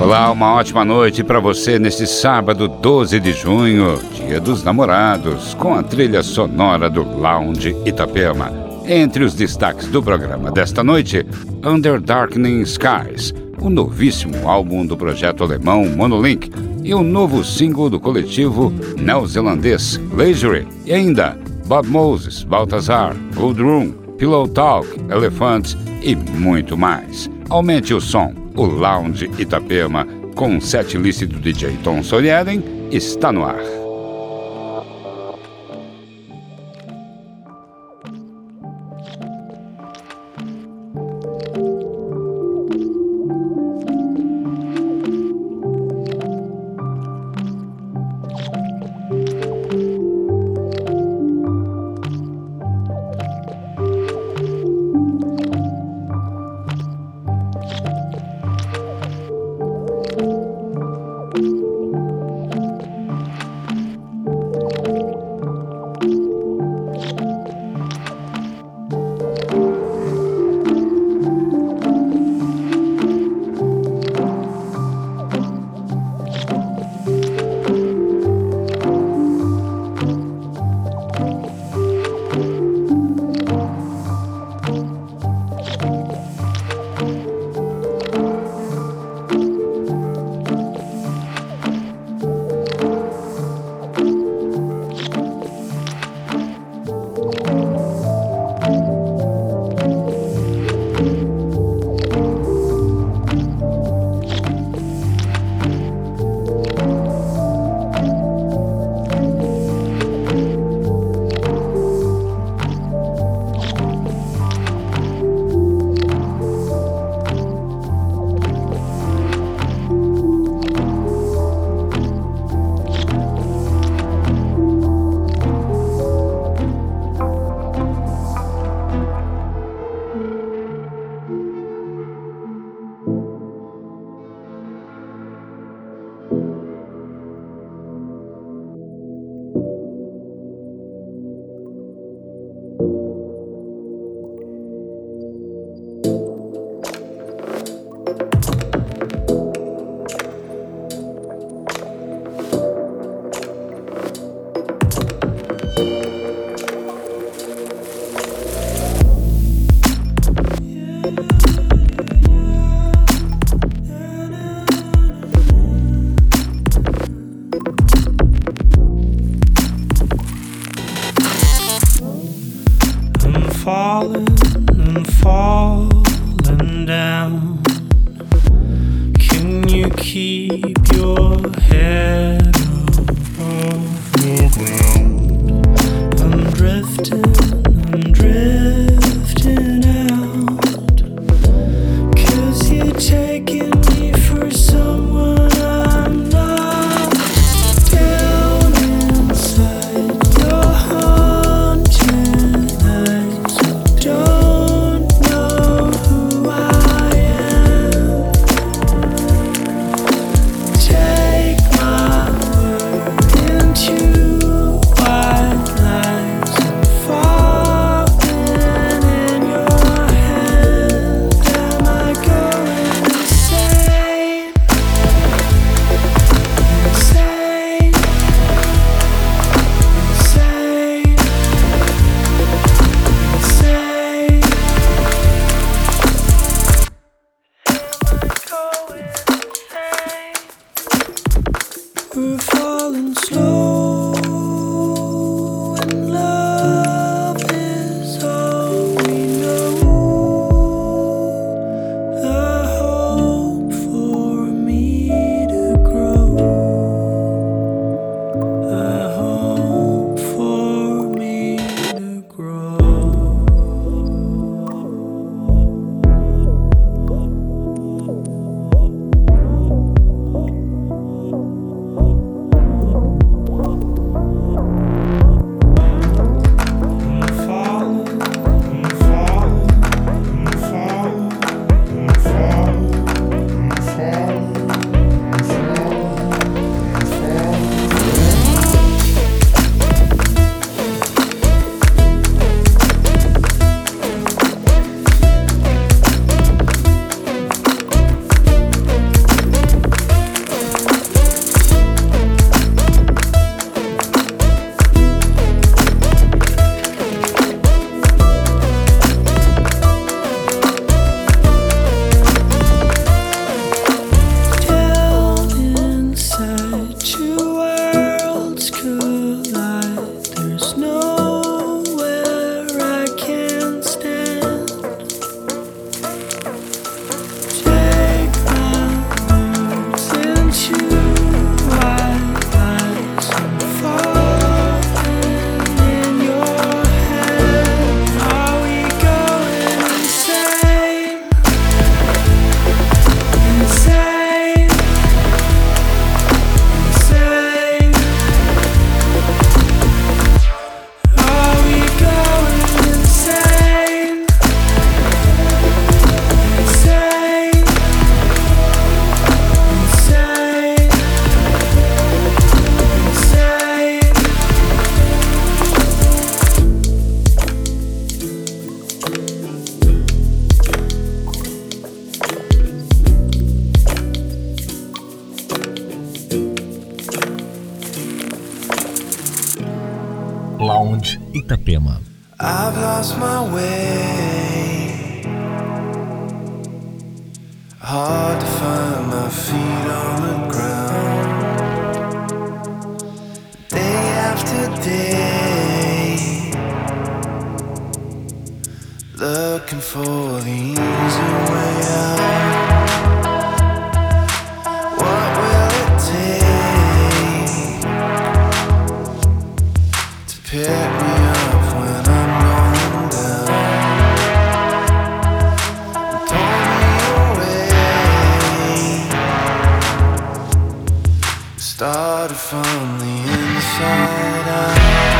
Olá, uma ótima noite para você neste sábado 12 de junho, Dia dos Namorados, com a trilha sonora do Lounge Itapema. Entre os destaques do programa desta noite, Under Darkening Skies, o novíssimo álbum do projeto alemão Monolink e o novo single do coletivo neozelandês Leisure, e ainda Bob Moses, Balthazar, Blood Room, Pillow Talk, Elephants e muito mais. Aumente o som. O Lounge Itapema, com o setlist do DJ Tom Sorieden, está no ar. Lounge Itapema. I've lost my way, hard to find my feet on the ground. Day after day, looking for the easy way out. What will it take to pick me up when I'm going down? Pull me away, started from the inside out.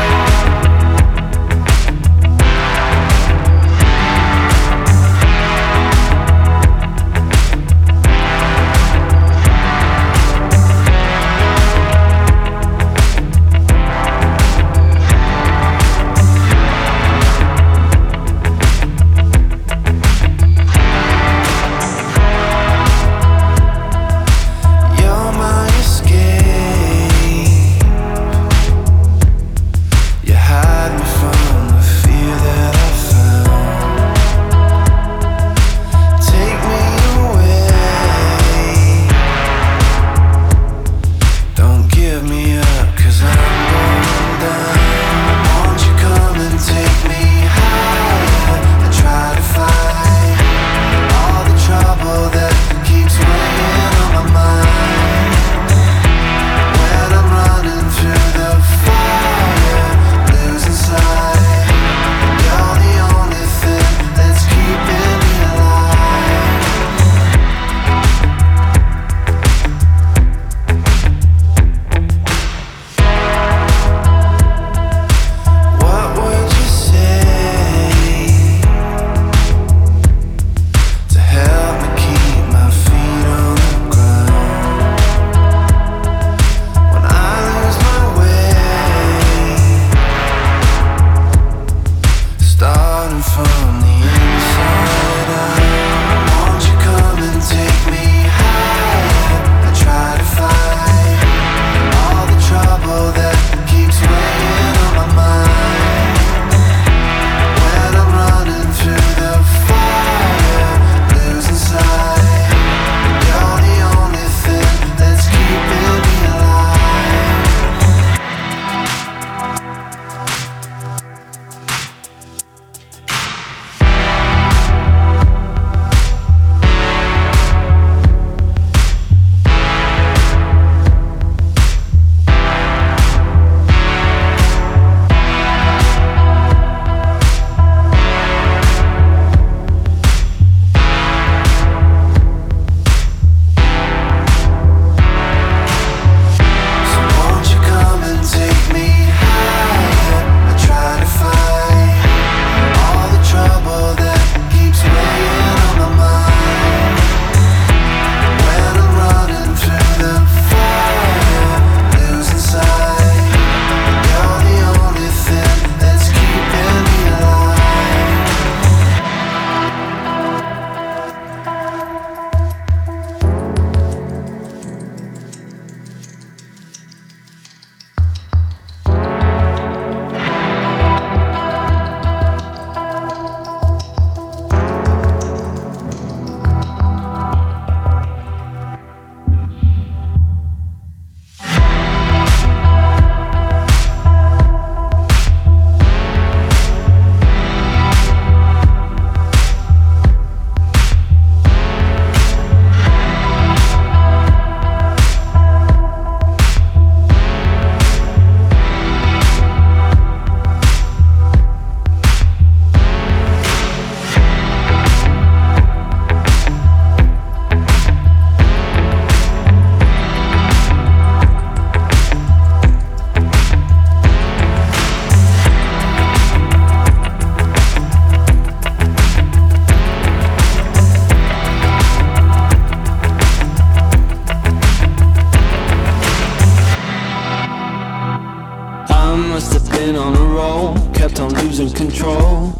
losing control.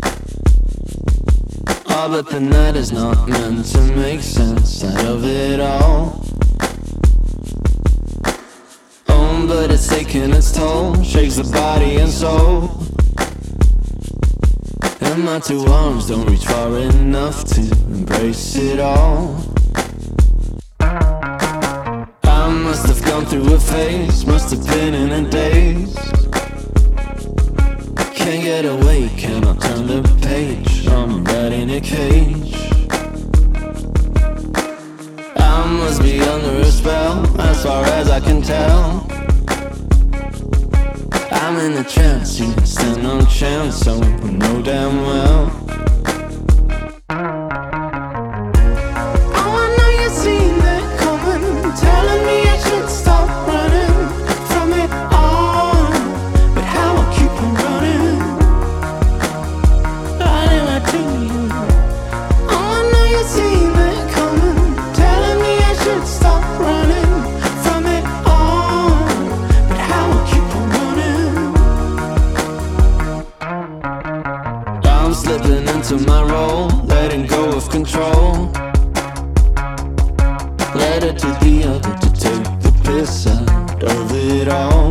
Oh, but the night is not meant to make sense out of it all. Oh, but it's taking its toll, shakes the body and soul. And my two arms don't reach far enough to embrace it all. I must have gone through a phase, must have been in a daze. Can't get away, cannot turn the page, I'm right in a cage. I must be under a spell, as far as I can tell. I'm in a trance, you stand no chance, so I know damn well. Oh, I know you've seen it coming, telling me I should stop running from it all. But how I keep on running, running right to you. Oh, I know you've seen it coming, telling me I should stop running from it all. But how I keep on running, I'm slipping into my role, letting go of control. Let it to the other to take the piss out of it all.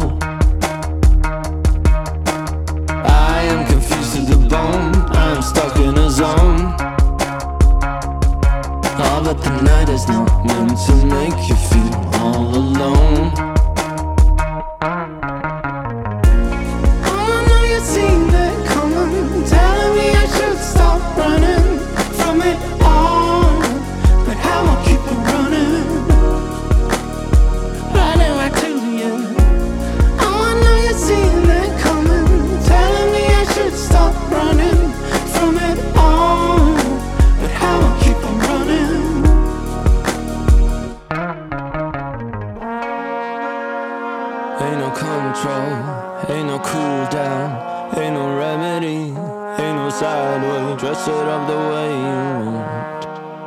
I am confused to the bone, I'm stuck in a zone. Oh, but the night is not meant to make you feel all alone. Oh, I know you've seen it coming, telling me I should stop running from it all. But how I keep on running, running right to you. Oh, I know you've seen it coming, telling me I should stop running from it all. But how I keep on running, ain't no control, ain't no cool down, ain't no remedy, ain't no sideway, dress it up the way you want.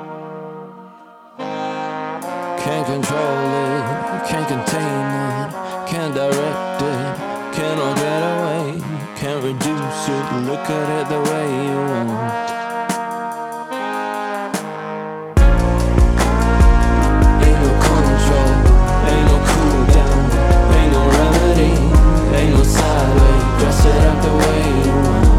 Can't control it, can't contain it, can't direct it, cannot get away, can't reduce it, look at it the way you want. Ain't no control, ain't no cool down, ain't no remedy, ain't no sideway, dress it up the way you want.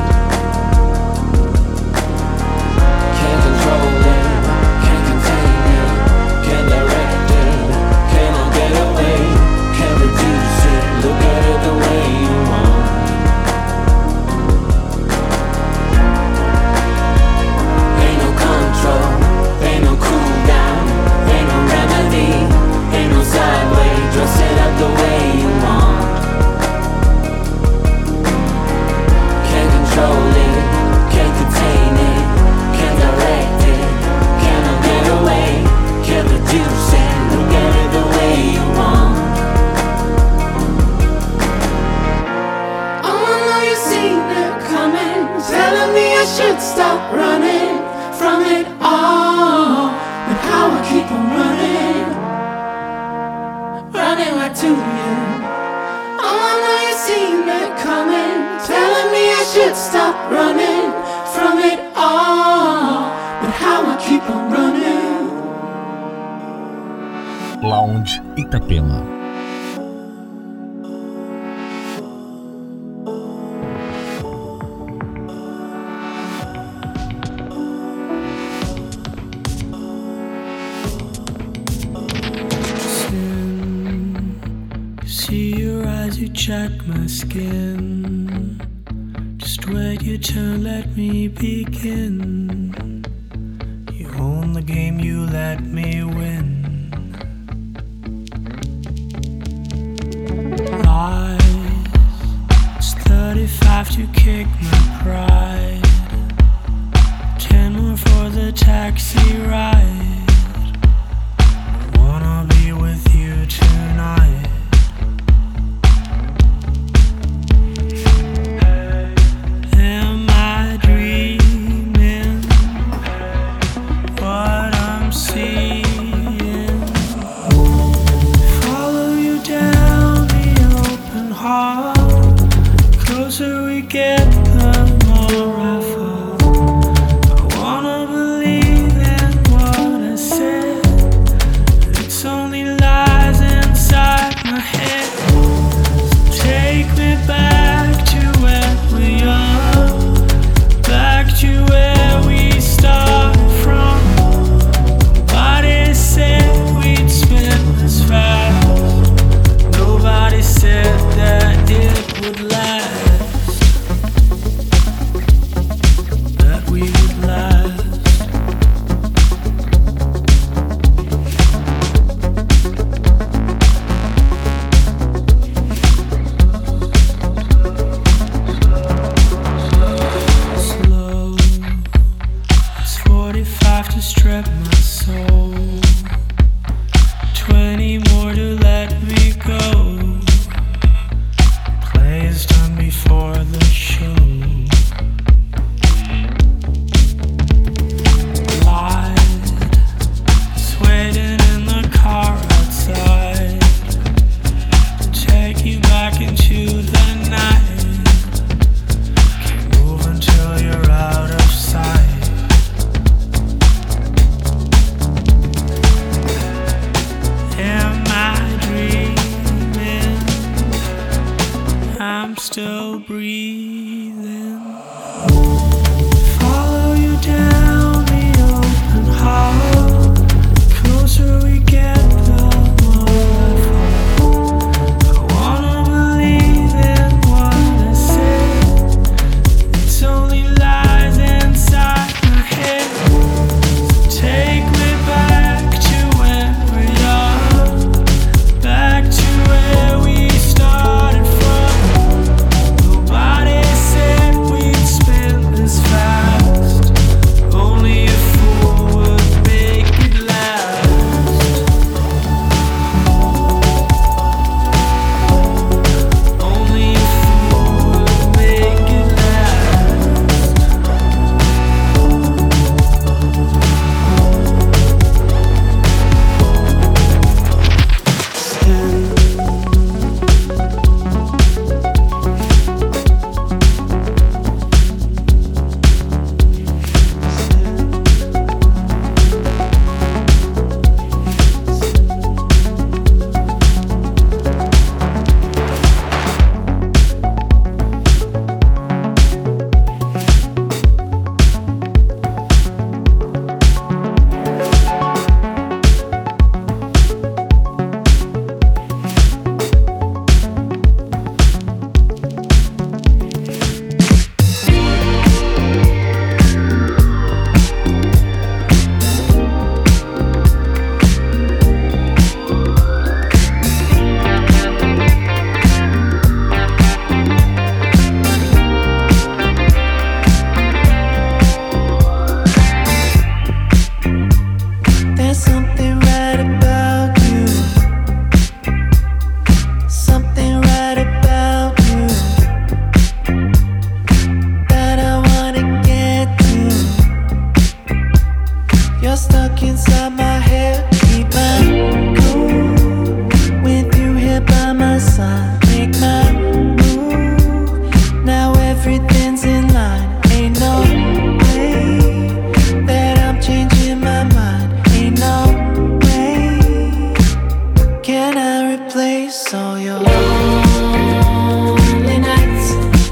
Can't control it, can't contain it, can't direct it, cannot get away, can't reduce it, look at it the way you want. Ain't no control, ain't no cool down, ain't no remedy, ain't no sideway, dress it up the way you want. Can't control it, can't contain it, can't direct it, cannot get away, can't reduce it, look at it the way you want. Oh, I know you've seen it coming, telling me I should stop running from it all. But how I keep on running, running right to you. Oh, I know you've seen it coming, telling me I should stop running from it all. But how I keep on running. Lounge Itapema. See your eyes, you check my skin. Just wait your turn, let me begin. You own the game, you let me win. Lies, it's 35 to kick my pride. 10 more for the taxi ride. I wanna be with you tonight. Am I dreaming what I'm seeing? Follow you down the open hall. Closer we get, the more still breathing. Follow you down the open hall. The closer we get, the more I fall. I wanna believe in what I say. It's only lies inside my head. So take me back to where we are, back to where we started from. Nobody said we'd spin this fast. Only a fool would make it last. Only a fool would make it last. There's something right about you. Something right about you that I wanna get to. You're stuck inside my head. Keep my cool with you here by my side. Make my move. Now everything's in line. Ain't no way that I'm changing my mind. Ain't no way can I replace all your lonely nights.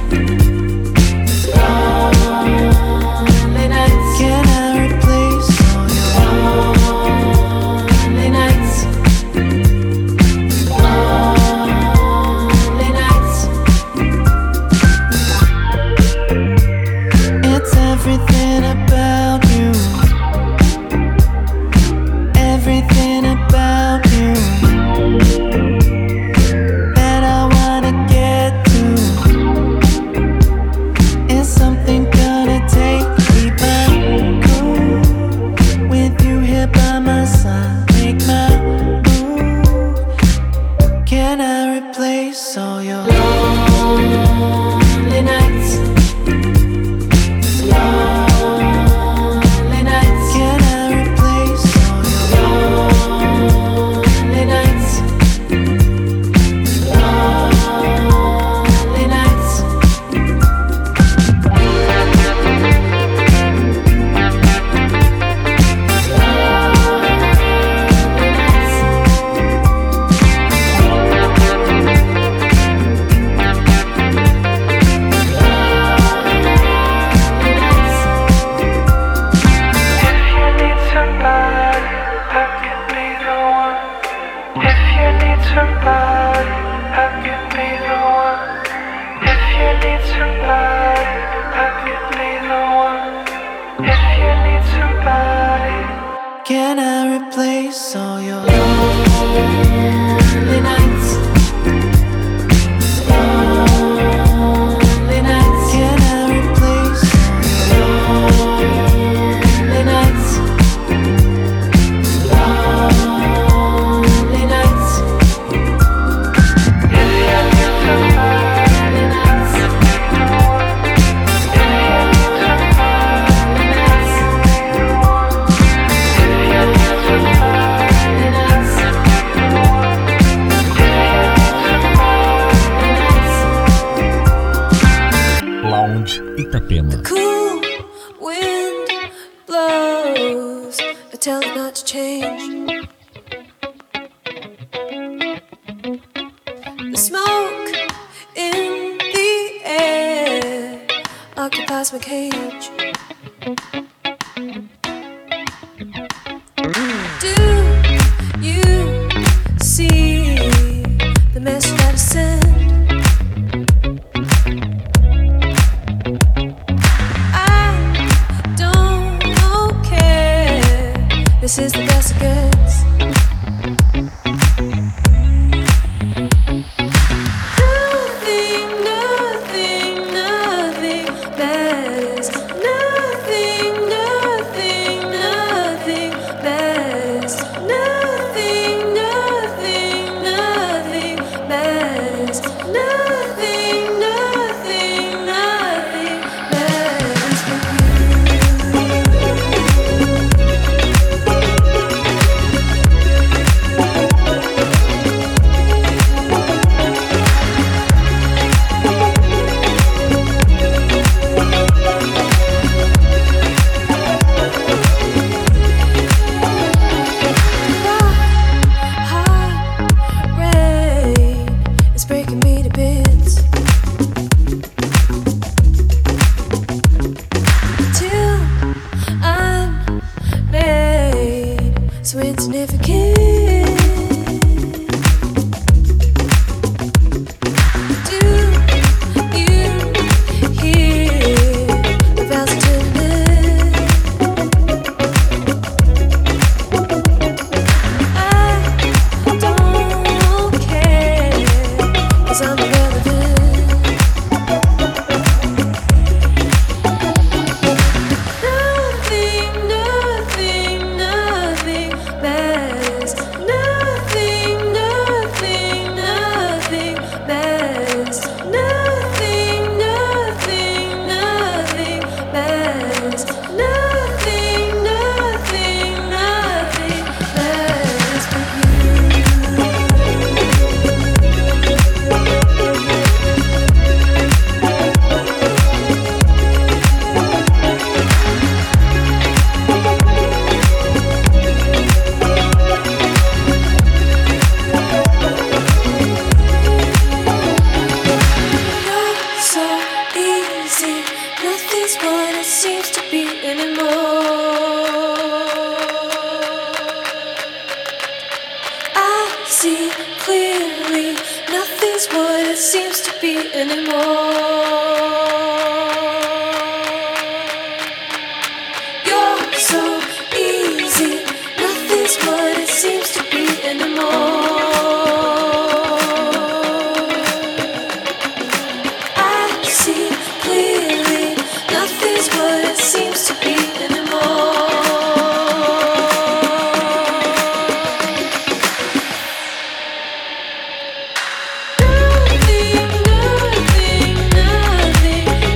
Lonely nights. Can I replace all your lonely nights? Lonely nights. It's everything about you. Everything about you that I wanna get to. Is something gonna take me back? Cool with you here by my side. Make my move. Can I replace all your lonely nights? Lonely nights. Can I replace all your lonely nights? Lonely nights. If you need somebody, I could be the one. If you need somebody, I could be the one. If you need somebody, can I replace all your lonely nights? Lonely nights. Can I replace all your lonely nights? Lonely nights. If you need somebody, I could be the one. If you need somebody, I could be the one. If you need somebody, I could be the one. If you need somebody, Lounge Itapema. Cool wind blows, I tell it not to change. The smoke in the occupies my cage. Do you see the message that I send? I don't care. This is the best it gets. Nothing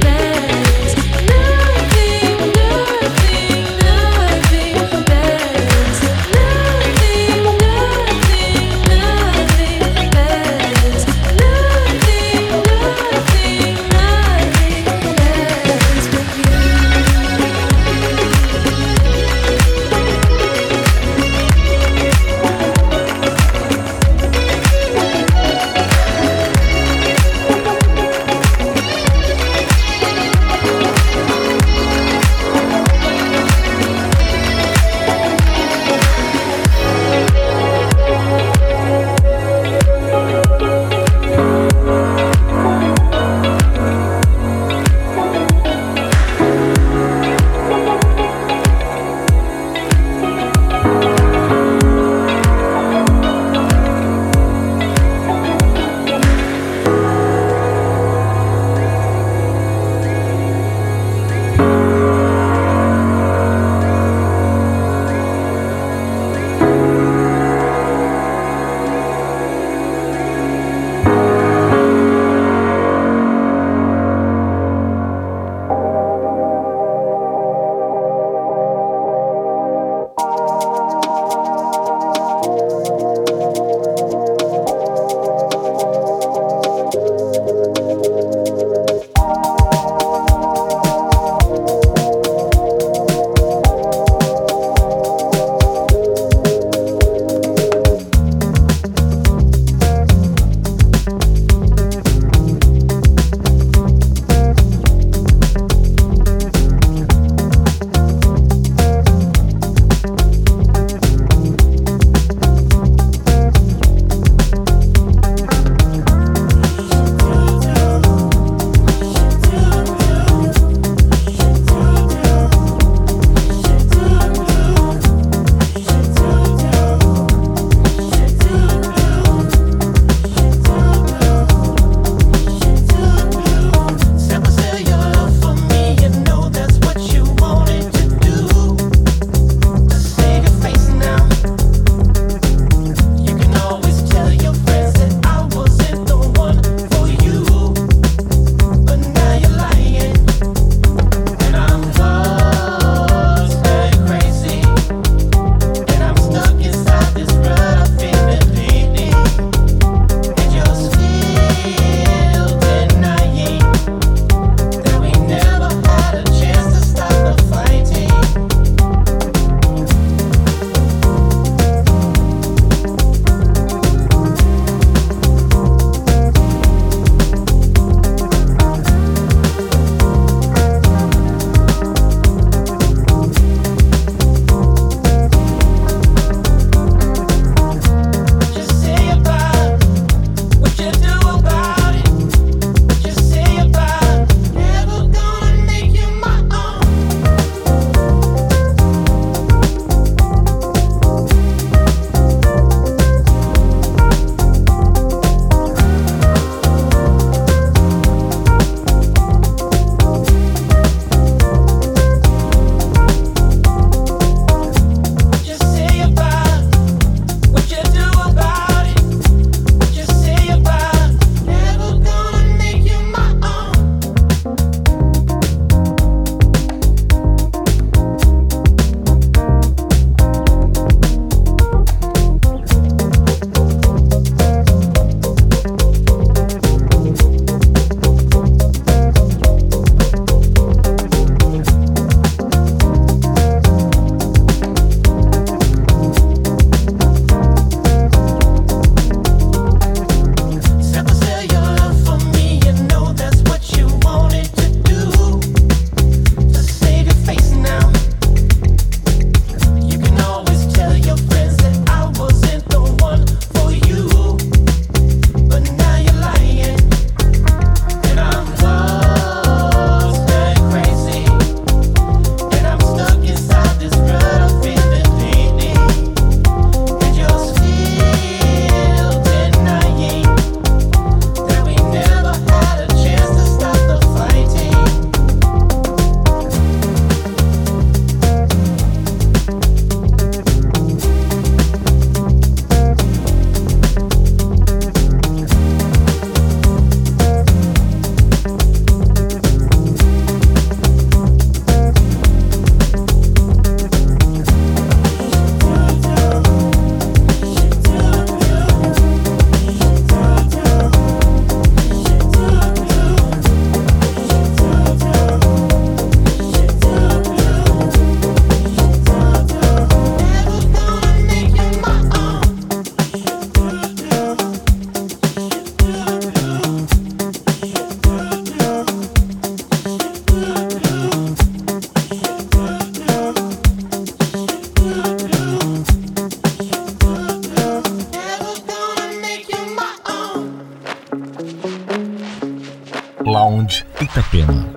Lounge Itapema.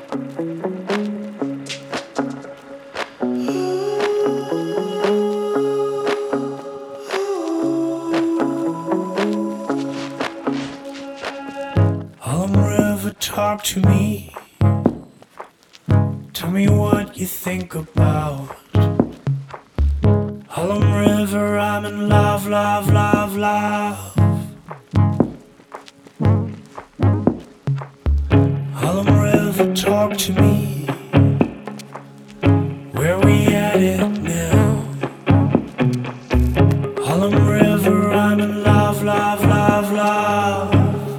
Harlem River, talk to me. Tell me what you think about Harlem River. I'm in love, love, love, love. Harlem River, talk to me. Where we at it now? Harlem River, I'm in love, love, love, love.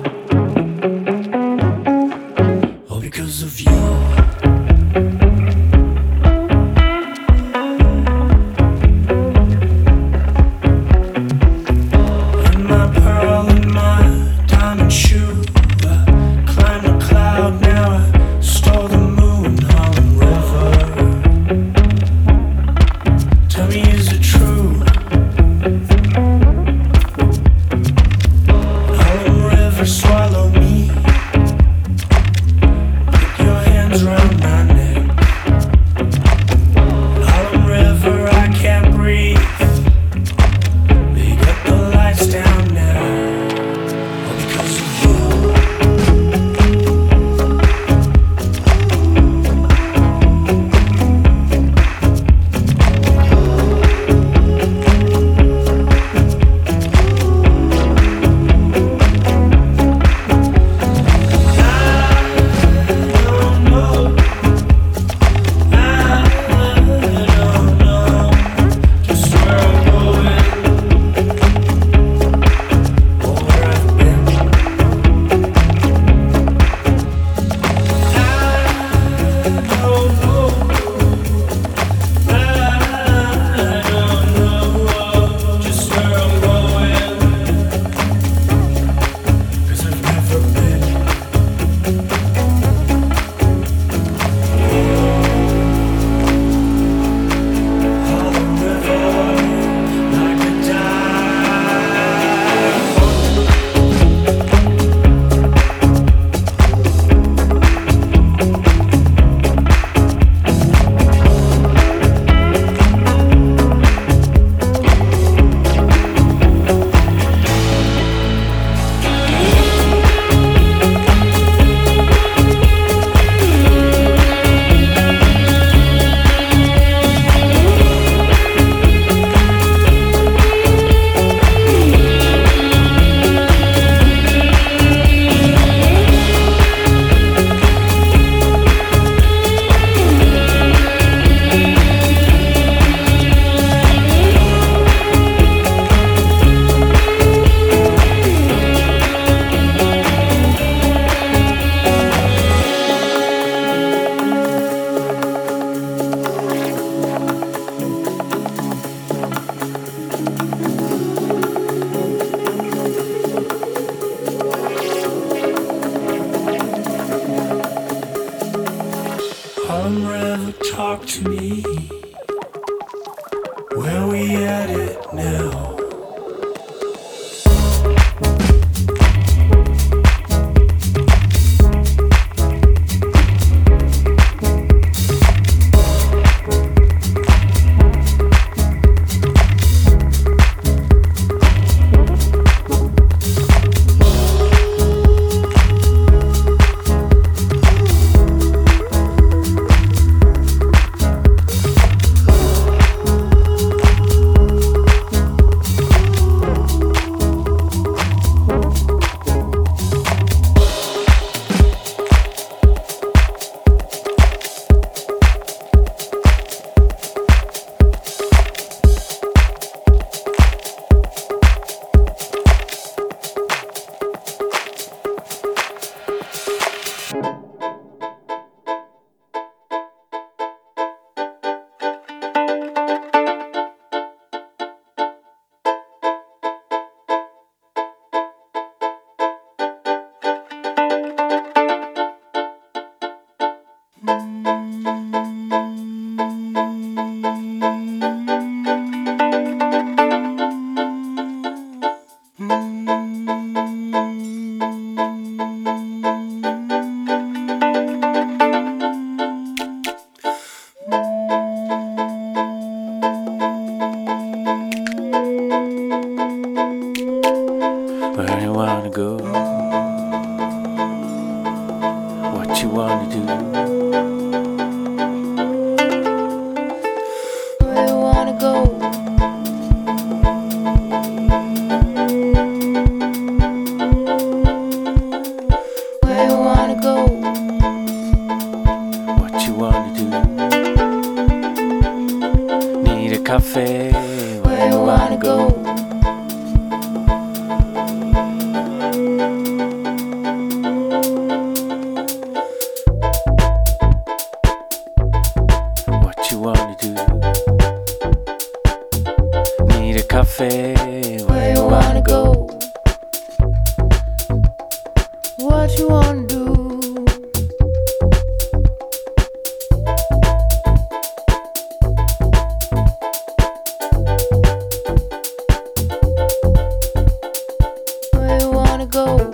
All because of you. Shoe, I climbed a cloud, now I stole the moon. cafe. Where you wanna go? What you wanna do? Where you wanna go?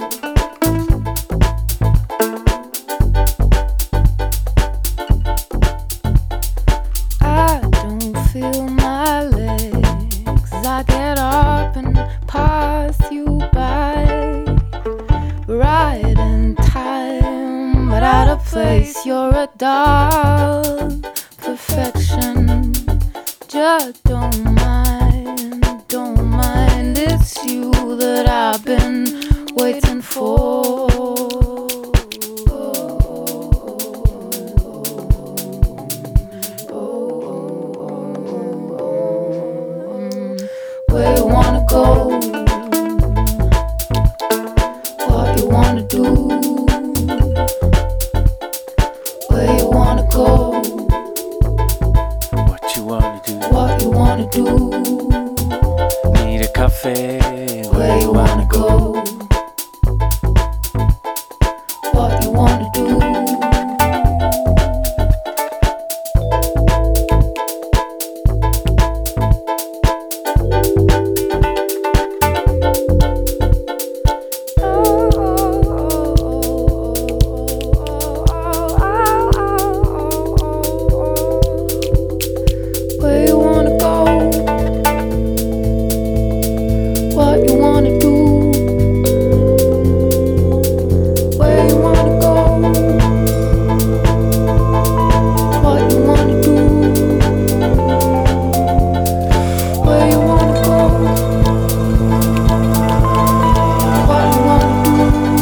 I don't feel my legs. I get up and pass you by. Right in time, but out of place. You're a doll, perfection. Just don't mind, don't mind. It's you that I've been waiting for. Where you wanna go? What you wanna do? Where you wanna go? What you wanna do? What you wanna do? Need a cafe. Where you wanna go? What you wanna do? Where you wanna go? What you wanna do? Where you wanna go? What you wanna do? Where you wanna go? What you wanna do?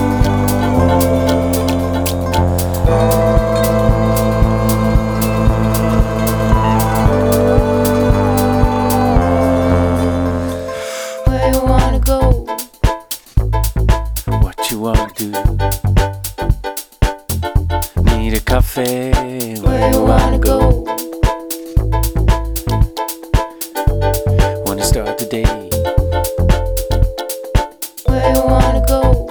Where you wanna go? What you wanna do? Need a cafe. Where you wanna go? Wanna start the day. Where you wanna go?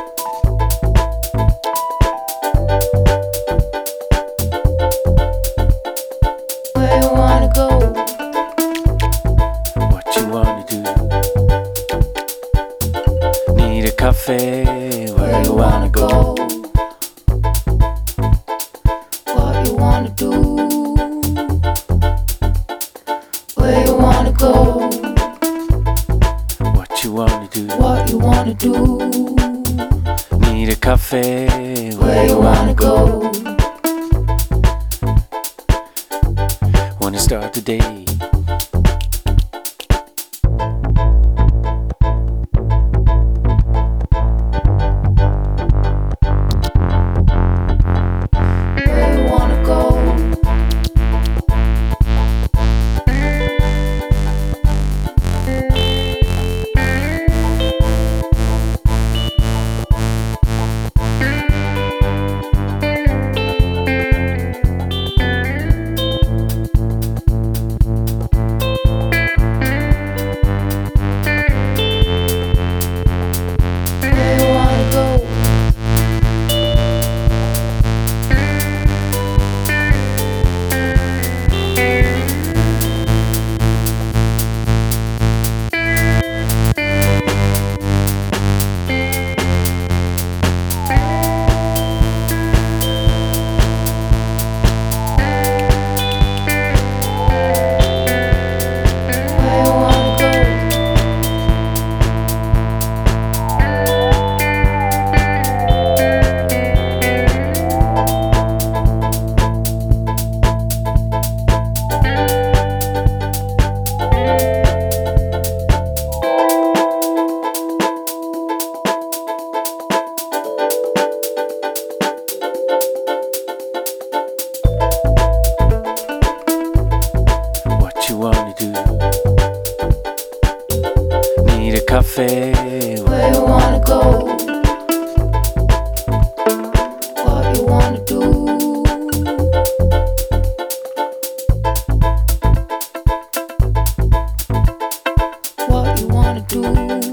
Where you wanna go? What you wanna do? Need a cafe. Where you wanna go? What you wanna do? Where you wanna go? What you wanna do? What you wanna do? Need a cafe. Where you wanna go? Wanna start the day. Where you wanna go? Where you wanna go? Where you wanna go? What you wanna do? Need a cafe. Where you wanna go? What you wanna do? What you wanna wanna do.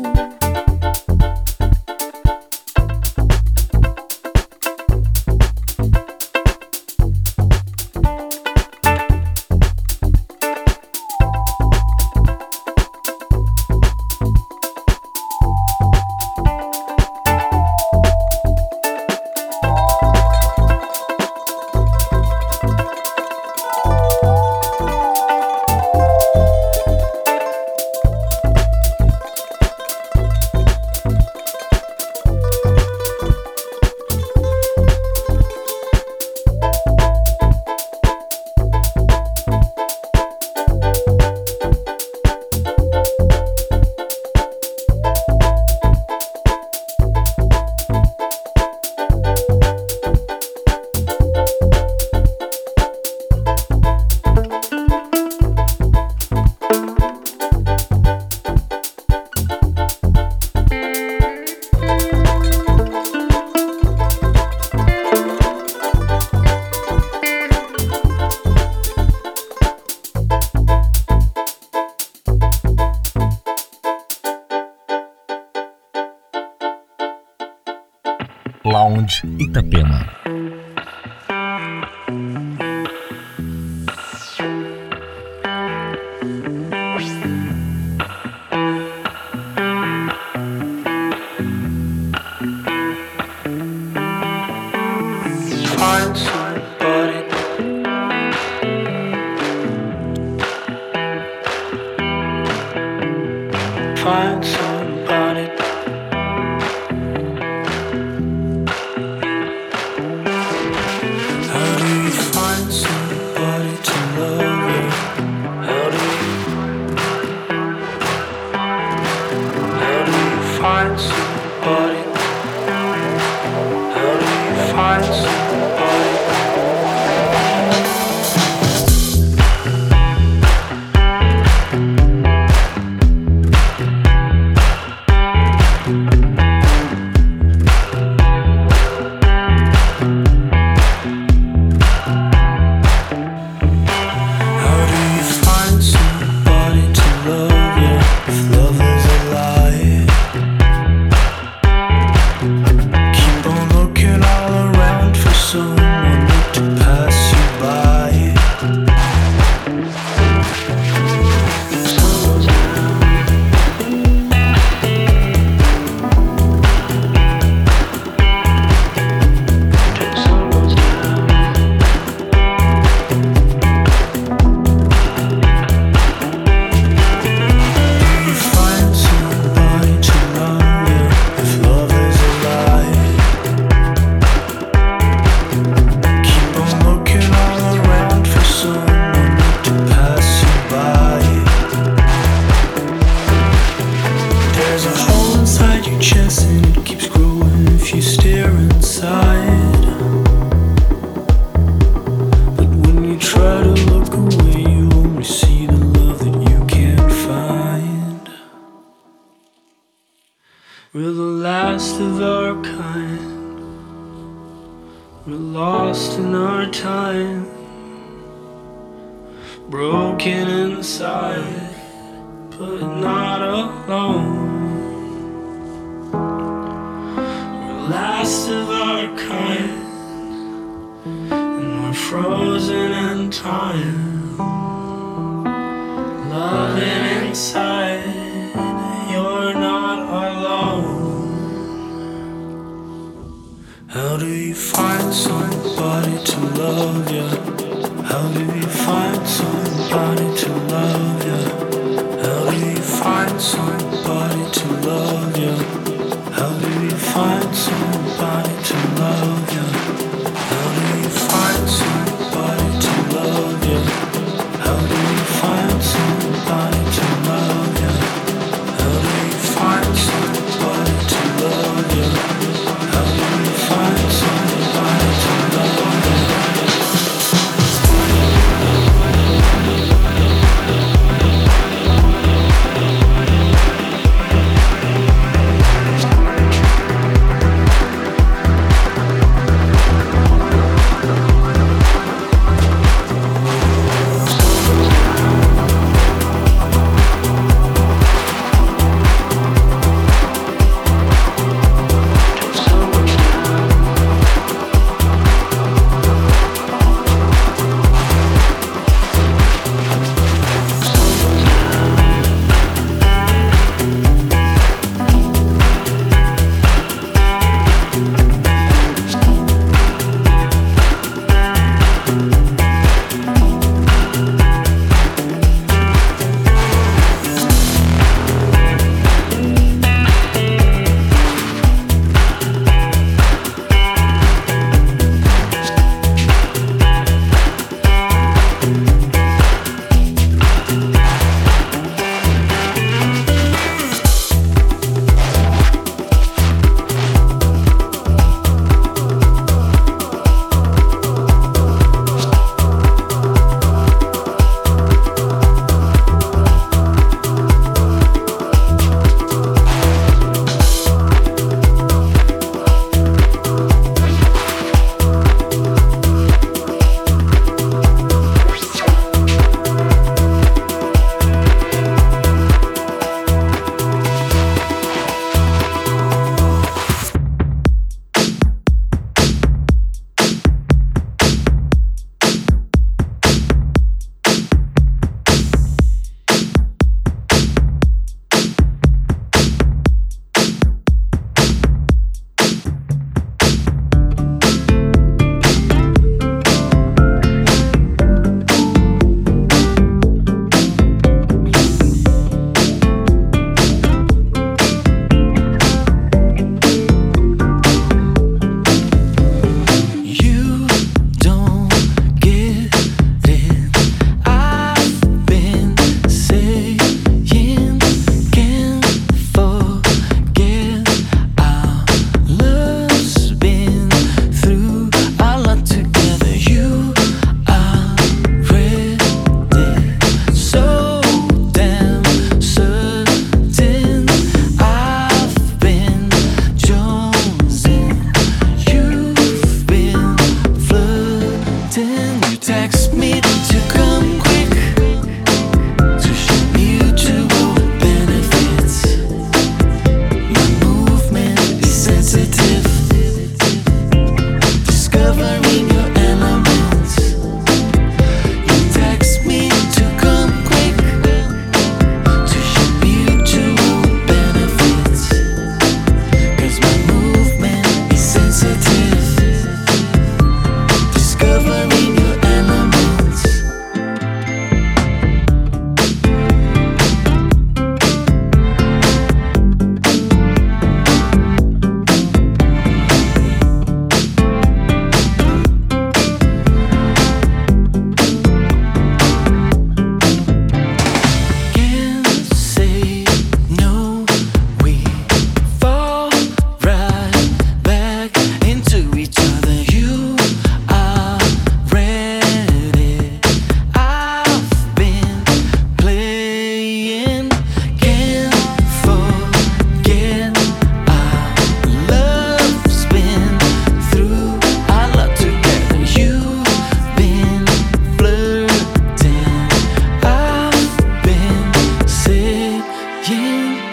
Lounge Itapema. Find somebody. Find somebody. How do you find somebody to love you? How do you find somebody? How do you find somebody? How do you find somebody to love you if love is a lie? Keep on looking all around for someone to pass you by. You find somebody to love you if love is a lie. Keep on looking all around for someone to pass you by. There's a hole inside your chest and it keeps growing if you stare inside. But when you try to look away, you only see the love that you can't find. We're the last of our kind. We're lost in our time. Broken inside, but not alone. We're last of our kind, and we're frozen in time. Loving inside, you're not alone. How do you find somebody to love you? How do you find somebody to love you? How do you find somebody to love you? How do you find somebody to love you? How do you find somebody to love you? How do you find somebody to love you? How do you find somebody to love you? How do you find somebody to love you?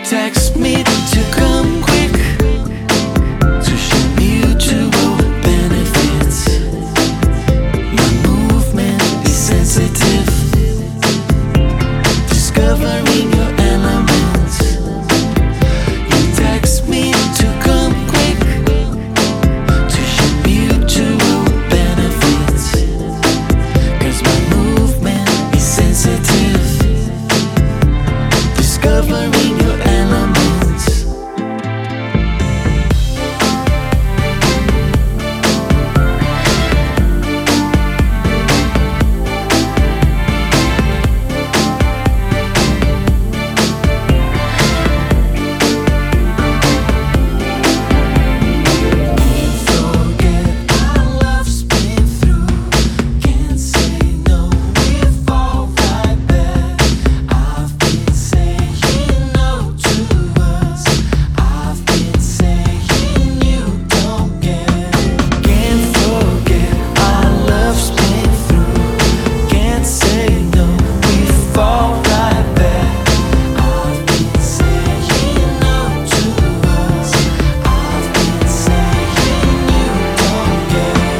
text me to come quick to share mutual benefits. My movement is sensitive, discovering your elements. You text me to come quick to share mutual benefits. 'Cause my movement is sensitive, discovering your elements. Forget our love's been through. Can't say no, we fall right back. I've been saying no to us. I've been saying you don't get it. Can't forget our love's been through. Can't say no, we fall right back. I've been saying no to us. I've been saying you don't get it.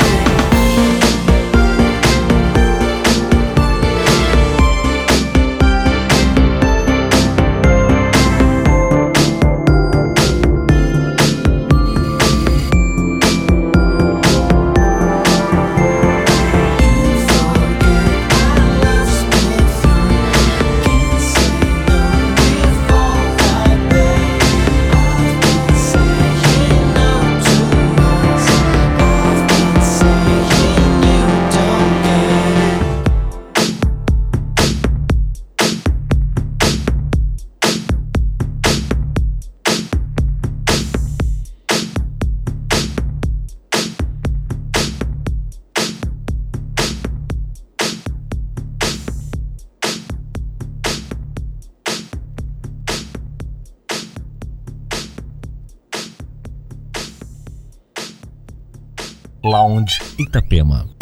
Lounge Itapema.